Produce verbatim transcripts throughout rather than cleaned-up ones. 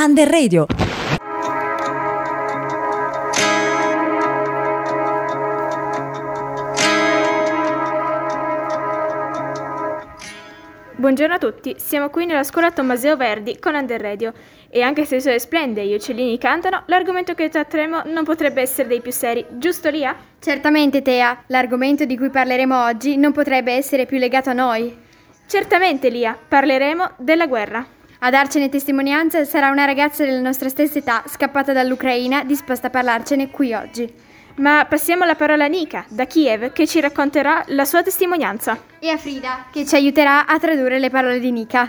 Under Radio. Buongiorno a tutti, siamo qui nella scuola Tommaseo Verdi con Under Radio e anche se il sole splende e gli uccellini cantano, l'argomento che tratteremo non potrebbe essere dei più seri, giusto Lia? Certamente Tea, l'argomento di cui parleremo oggi non potrebbe essere più legato a noi. Certamente Lia, parleremo della guerra. A darcene testimonianza sarà una ragazza della nostra stessa età, scappata dall'Ucraina, disposta a parlarcene qui oggi. Ma passiamo la parola a Nika, da Kiev, che ci racconterà la sua testimonianza. E a Frida, che ci aiuterà a tradurre le parole di Nika.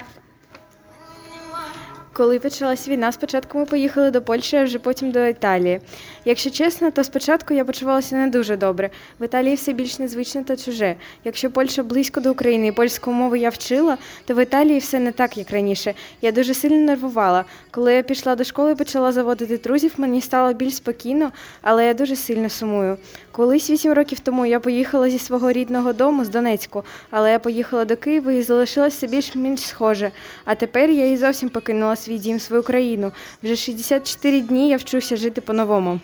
Коли почалась війна, спочатку ми поїхали до Польщі, а вже потім до Італії. Якщо чесно, то спочатку я почувалася не дуже добре. В Італії все більш незвичне та чуже. Якщо Польща близько до України і польську мову я вчила, то в Італії все не так, як раніше. Я дуже сильно нервувала. Коли я пішла до школи і почала заводити друзів, мені стало більш спокійно, але я дуже сильно сумую. Колись вісім років тому я поїхала зі свого рідного дому, з Донецьку, але я поїхала до Києва і залишилася більш-менш схоже. А тепер я і зовсім покинула свій дім, свою країну. Вже шістдесят чотири дні я вчуся жити по-новому.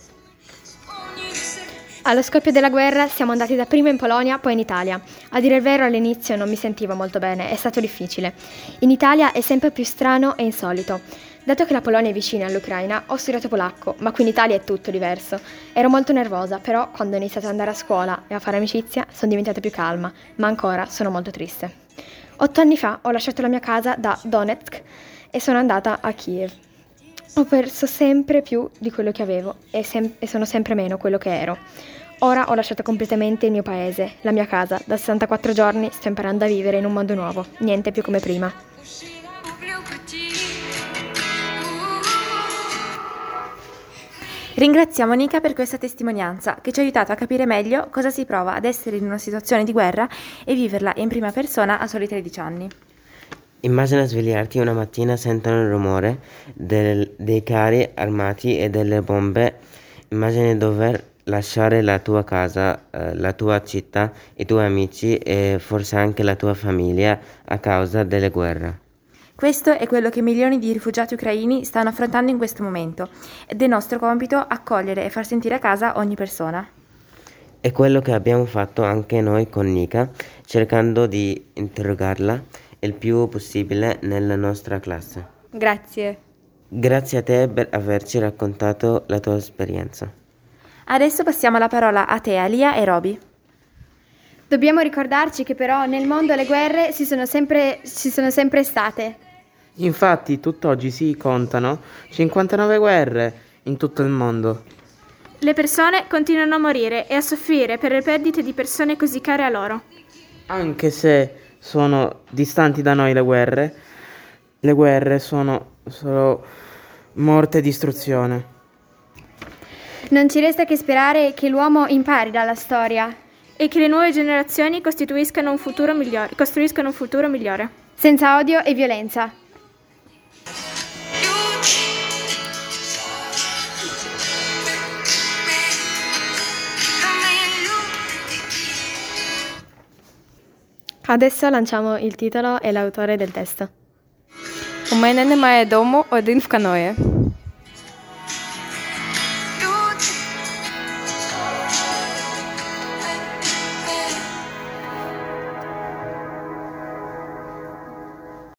Allo scoppio della guerra siamo andati dapprima in Polonia, poi in Italia. A dire il vero all'inizio non mi sentivo molto bene, è stato difficile. In Italia è sempre più strano e insolito. Dato che la Polonia è vicina all'Ucraina, ho studiato polacco, ma qui in Italia è tutto diverso. Ero molto nervosa, però quando ho iniziato ad andare a scuola e a fare amicizia sono diventata più calma, ma ancora sono molto triste. Otto anni fa ho lasciato la mia casa da Donetsk e sono andata a Kiev. Ho perso sempre più di quello che avevo e, sem- e sono sempre meno quello che ero. Ora ho lasciato completamente il mio paese, la mia casa. Da sessantaquattro giorni sto imparando a vivere in un mondo nuovo, niente più come prima. Ringraziamo Nika per questa testimonianza che ci ha aiutato a capire meglio cosa si prova ad essere in una situazione di guerra e viverla in prima persona a soli tredici anni. Immagina svegliarti una mattina, sentono il rumore del, dei carri armati e delle bombe. Immagini dover lasciare la tua casa, eh, la tua città, i tuoi amici e forse anche la tua famiglia a causa delle guerre. Questo è quello che milioni di rifugiati ucraini stanno affrontando in questo momento ed è nostro compito accogliere e far sentire a casa ogni persona. È quello che abbiamo fatto anche noi con Nika, cercando di interrogarla il più possibile nella nostra classe. Grazie. Grazie a te per averci raccontato la tua esperienza. Adesso passiamo la parola a te, Alia e Roby. Dobbiamo ricordarci che però nel mondo le guerre si sono sempre, ci sono sempre state. Infatti, tutt'oggi si contano cinquantanove guerre in tutto il mondo. Le persone continuano a morire e a soffrire per le perdite di persone così care a loro. Anche se sono distanti da noi le guerre, le guerre sono solo morte e distruzione. Non ci resta che sperare che l'uomo impari dalla storia e che le nuove generazioni costituiscano un futuro migliore, costruiscano un futuro migliore. Senza odio e violenza. Adesso lanciamo il titolo e l'autore del testo. У мене немає дому, один в каное.